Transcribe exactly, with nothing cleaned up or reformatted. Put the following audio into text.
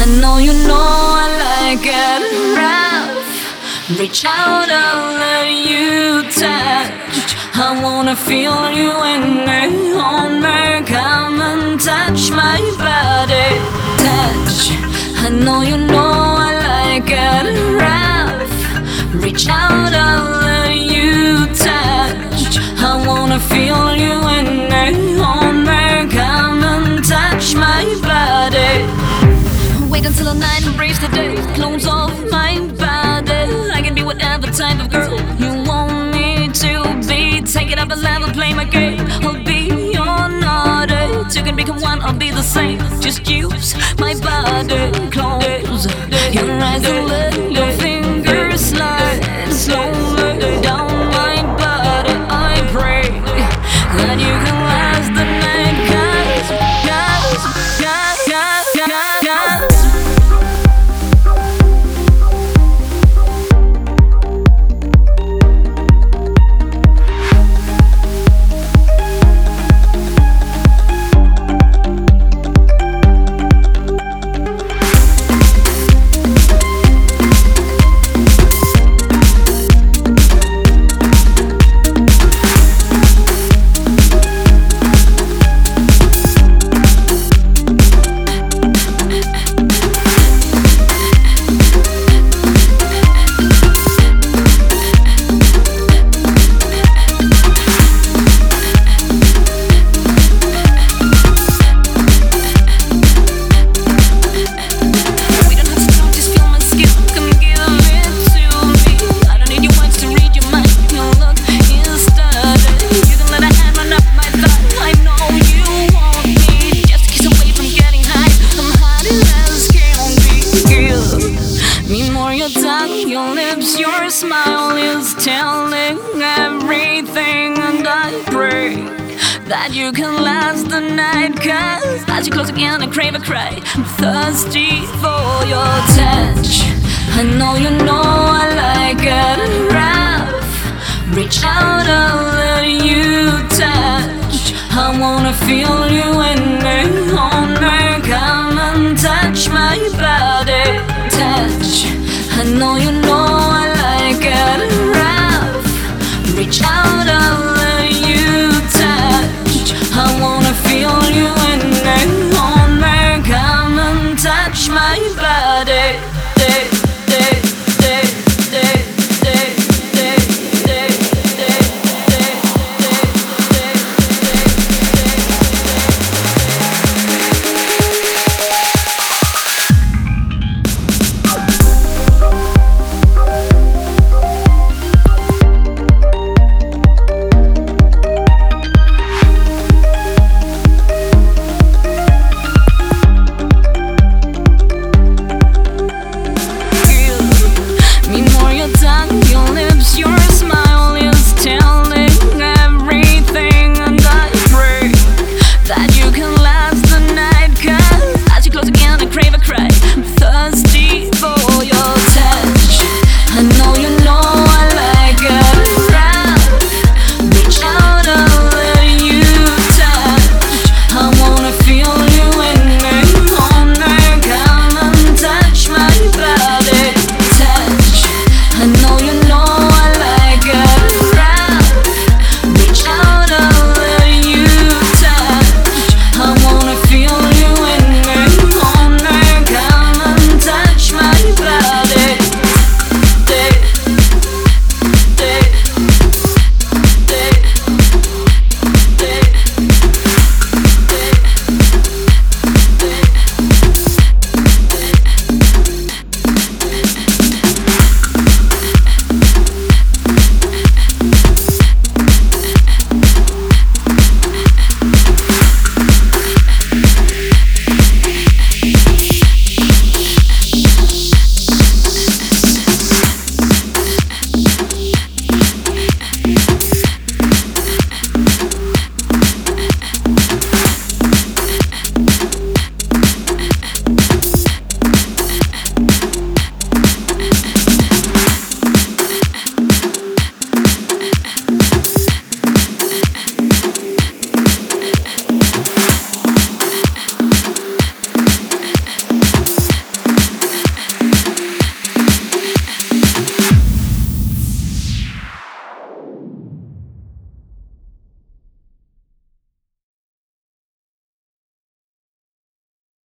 know you know I like it rough. Reach out, I'll let you touch. I wanna feel you in me, hold me, come and touch my body. Touch, I know you know I like it rough. Reach out, I'll let you touch. I wanna feel you in me, hold me, come and touch my body. Wait until the night, embrace the day, clothes off my body. I can be whatever type of girl you want me to be. Take it up a level, play my game. I'll be your naughty. You can become one, I'll be the same. Just use my body. Close your eyes and let your fingers slide slowly down my body. I pray that you can last the night, cause, cause, cause, cause, cause, cause. Your lips, your smile is telling everything. And I pray that you can last the night, cause as you close again I crave a cry. I'm thirsty for your touch. I know you know I like it rough. Reach out, I'll let you touch. I wanna feel you in me.